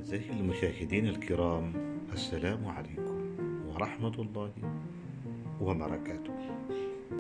أعزائي المشاهدين الكرام، السلام عليكم ورحمة الله وبركاته.